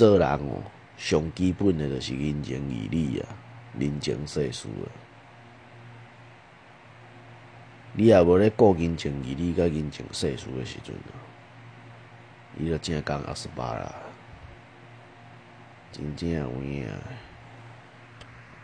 做人哦，上基本的就是人情义理啊，人情世事啊。你若无咧顾人情义理甲人情世事的时阵啊，你就真讲阿斯巴啦，真正有影。